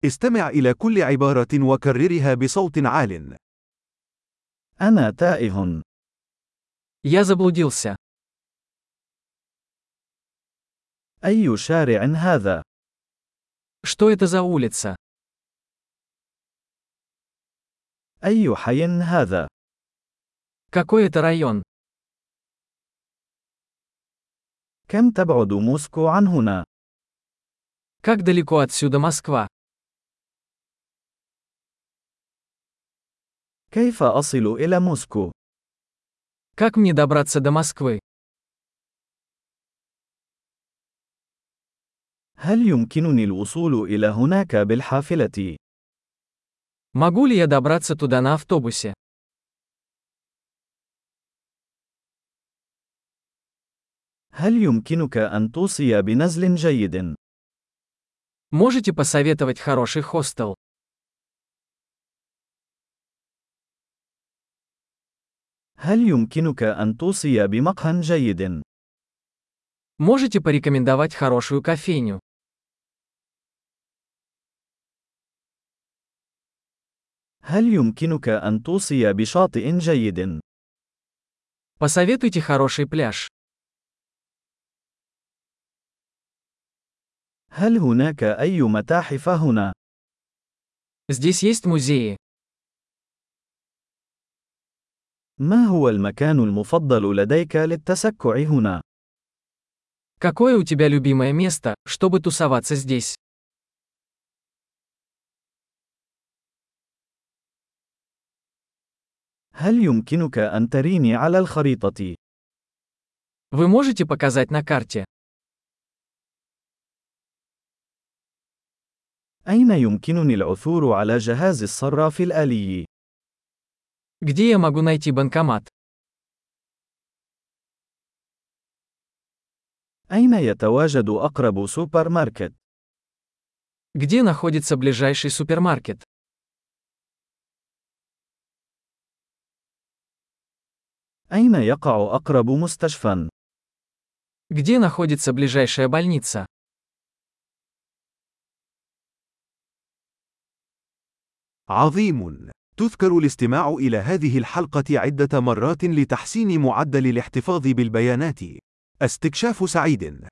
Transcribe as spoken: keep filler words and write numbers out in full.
استمع إلى كل عبارة وكررها بصوت عال. أنا تائه. Я заблудился. أي شارع هذا؟ Что это за улица? أي حي هذا؟ Какой это район? كم تبعد موسكو عن هنا؟ Как далеко отсюда Москва? كيف أصل إلى موسكو؟ Как мне добраться до Москвы? هل يمكنني الوصول إلى هناك بالحافلة؟ Могу ли я добраться туда на автобусе? هل يمكنك أن توصي بنزل جيد؟ Можете посоветовать хороший хостел? هل يمكنك أن توصي بمقهى جيد؟ Можете порекомендовать хорошую кофейню? هل يمكنك أن توصي بشاطئ جيد؟ Посоветуйте хороший пляж. هل هناك أي متاحف هنا؟ Здесь есть музеи. ما هو المكان المفضل لديك للتسكع هنا؟ Какое у тебя любимое место, чтобы тусоваться здесь? هل يمكنك أن تريني على الخريطة؟ Вы можете показать на карте? أين يمكنني العثور على جهاز الصراف الآلي؟ Где я могу найти банкомат? أين يتواجد أقرب سوبر ماركت؟ Где находится ближайший супермаркет? أين يقع أقرب مستشفى؟ Где находится ближайшая больница? عظيم! تذكر الاستماع إلى هذه الحلقة عدة مرات لتحسين معدل الاحتفاظ بالبيانات. استكشاف سعيد!